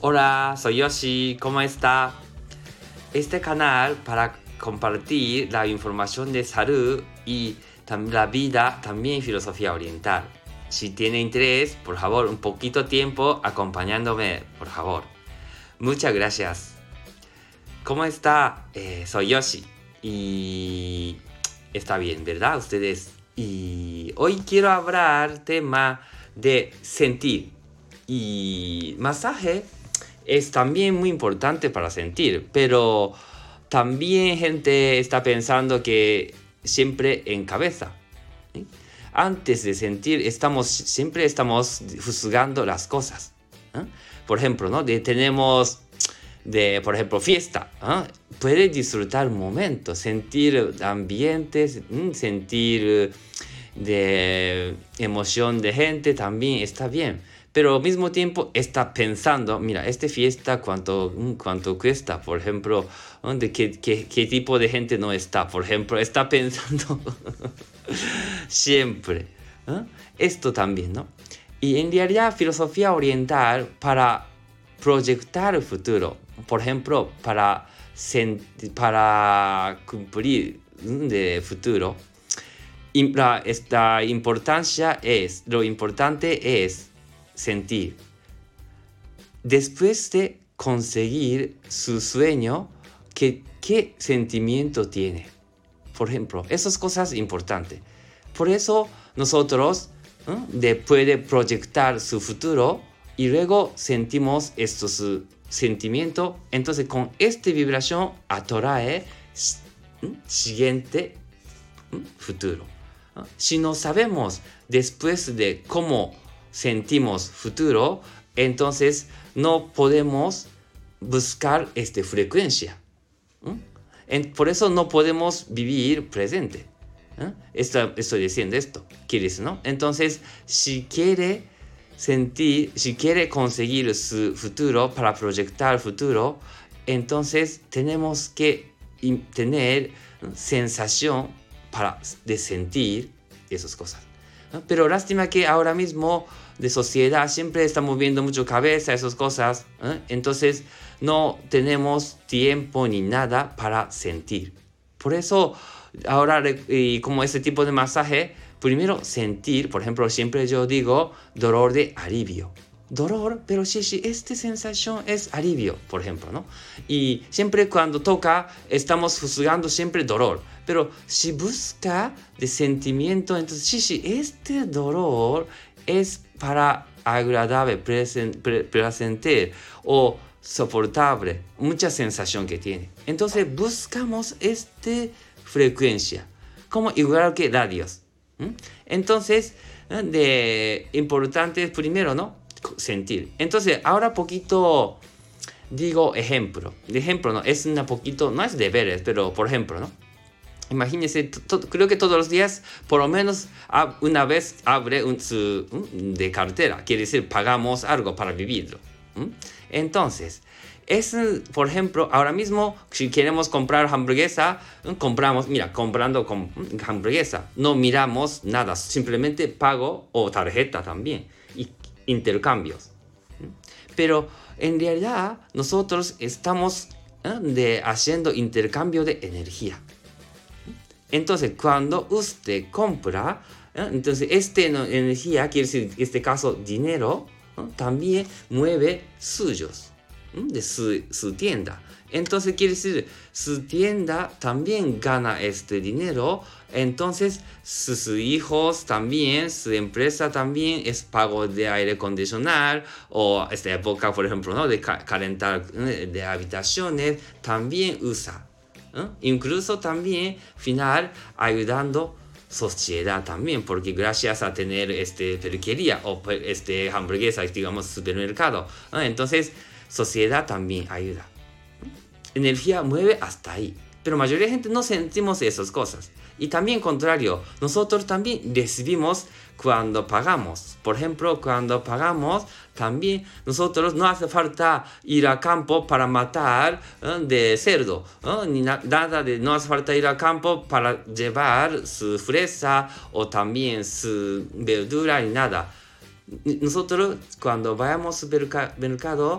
Hola, soy Yoshi, ¿cómo está? Este canal para compartir la información de salud y la vida, también filosofía oriental. Si tiene interés, por favor, un poquito tiempo acompañándome, por favor. Muchas gracias. ¿Cómo está? Soy Yoshi y está bien, ¿verdad? Ustedes. Y hoy quiero hablar tema de sentir. Y masaje es también muy importante para sentir, pero también gente está pensando que siempre en cabeza. ¿Sí? Antes de sentir, siempre estamos juzgando las cosas. ¿Eh? Por ejemplo, ¿no? Por ejemplo, fiesta. ¿Eh? Puede disfrutar momentos, sentir ambientes, sentir de emoción de gente también está bien. Pero al mismo tiempo está pensando, mira, esta fiesta, ¿cuánto cuesta? Por ejemplo, ¿de qué tipo de gente no está? Por ejemplo, está pensando siempre. ¿Eh? Esto también, ¿no? Y en realidad, filosofía oriental para proyectar el futuro, por ejemplo, para cumplir el futuro, lo importante es sentir. Después de conseguir su sueño, ¿qué sentimiento tiene? Por ejemplo, esas cosas importantes. Por eso nosotros puede proyectar su futuro y luego sentimos estos sentimientos. Entonces con esta vibración atrae siguiente futuro. Si no sabemos después de cómo sentimos futuro, entonces no podemos buscar esta frecuencia. Por eso no podemos vivir presente. Estoy diciendo esto. ¿Quieres, no? Entonces, si quiere conseguir su futuro para proyectar futuro, entonces tenemos que tener sensación de sentir esas cosas. Pero lástima que ahora mismo de sociedad siempre estamos viendo mucho cabeza, esas cosas. Entonces no tenemos tiempo ni nada para sentir. Por eso ahora, como este tipo de masaje, primero sentir, por ejemplo, siempre yo digo dolor de alivio. Dolor, pero sí, esta sensación es alivio, por ejemplo, ¿no? Y siempre cuando toca, estamos juzgando siempre dolor. Pero si busca de sentimiento, entonces sí, este dolor es para agradable, placentero o soportable, mucha sensación que tiene. Entonces buscamos esta frecuencia, como igual que radios. Entonces, importante primero, ¿no? Sentir. Entonces, ahora poquito digo ejemplo. De ejemplo, ¿no? Es un poquito, no es deberes, pero por ejemplo, ¿no? Imagínense, creo que todos los días, por lo menos una vez abre de cartera. Quiere decir, pagamos algo para vivirlo. Entonces, por ejemplo, ahora mismo, si queremos comprar hamburguesa, comprando hamburguesa, no miramos nada, simplemente pago o tarjeta también, y intercambios. Pero en realidad, nosotros estamos haciendo intercambio de energía. Entonces, cuando usted compra, entonces esta energía, quiere decir, en este caso, dinero, también mueve suyos, de su tienda. Entonces, quiere decir, su tienda también gana este dinero. Entonces, sus hijos también, su empresa también es pago de aire acondicionado o esta época, por ejemplo, ¿no? De calentar de habitaciones, también usa. Incluso también, final, ayudando sociedad también, porque gracias a tener peluquería o hamburguesa, digamos, supermercado, entonces sociedad también ayuda. Energía mueve hasta ahí, pero la mayoría de gente no sentimos esas cosas. Y también contrario, nosotros también recibimos cuando pagamos. Por ejemplo, cuando pagamos, también nosotros no hace falta ir al campo para matar de cerdo, ni no hace falta ir al campo para llevar su fresa o también su verdura ni nada. Nosotros cuando vayamos al supermercado,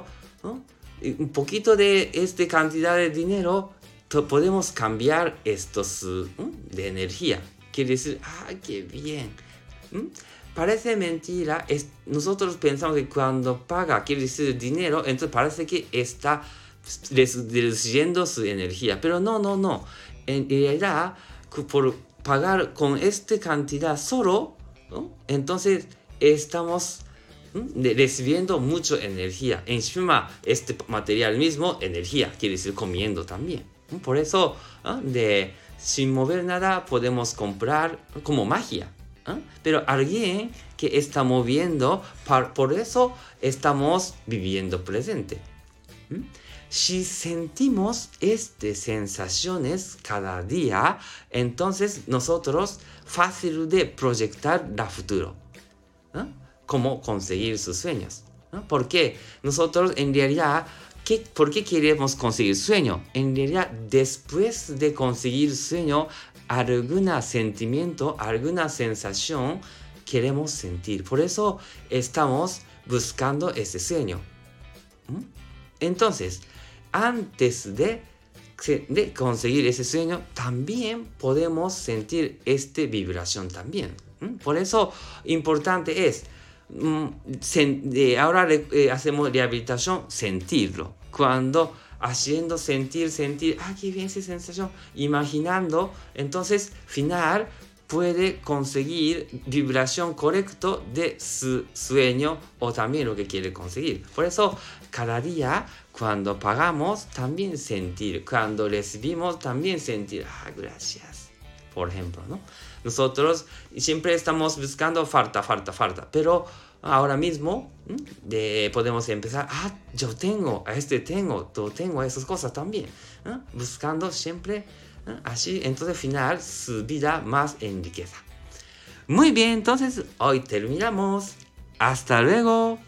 ¿no? Y un poquito de esta cantidad de dinero podemos cambiar estos de energía. Quiere decir, qué bien. Parece mentira. Nosotros pensamos que cuando paga, quiere decir dinero, entonces parece que está reduciendo su energía. Pero no. En realidad, por pagar con esta cantidad solo, ¿no? Entonces estamos recibiendo mucha energía. Encima, este material mismo, energía, quiere decir comiendo también. Por eso, sin mover nada, podemos comprar como magia. Pero alguien que está moviendo, por eso estamos viviendo presente. Si sentimos estas sensaciones cada día, entonces nosotros fácil de proyectar el futuro. Cómo conseguir sus sueños. Porque nosotros en realidad, ¿por qué queremos conseguir sueño? En realidad, después de conseguir sueño, algún sentimiento, alguna sensación queremos sentir. Por eso estamos buscando ese sueño. Entonces, antes de conseguir ese sueño, también podemos sentir esta vibración también. Por eso, importante es, ahora hacemos rehabilitación, sentirlo. Cuando haciendo sentir, qué bien esa sensación, imaginando, entonces, final puede conseguir vibración correcta de su sueño o también lo que quiere conseguir. Por eso, cada día, cuando pagamos, también sentir. Cuando recibimos, también sentir. Gracias. Por ejemplo, ¿no? Nosotros siempre estamos buscando falta. Pero ahora mismo podemos empezar. Yo tengo esas cosas también. Buscando siempre. Así, entonces, al final, su vida más en riqueza. Muy bien, entonces, hoy terminamos. Hasta luego.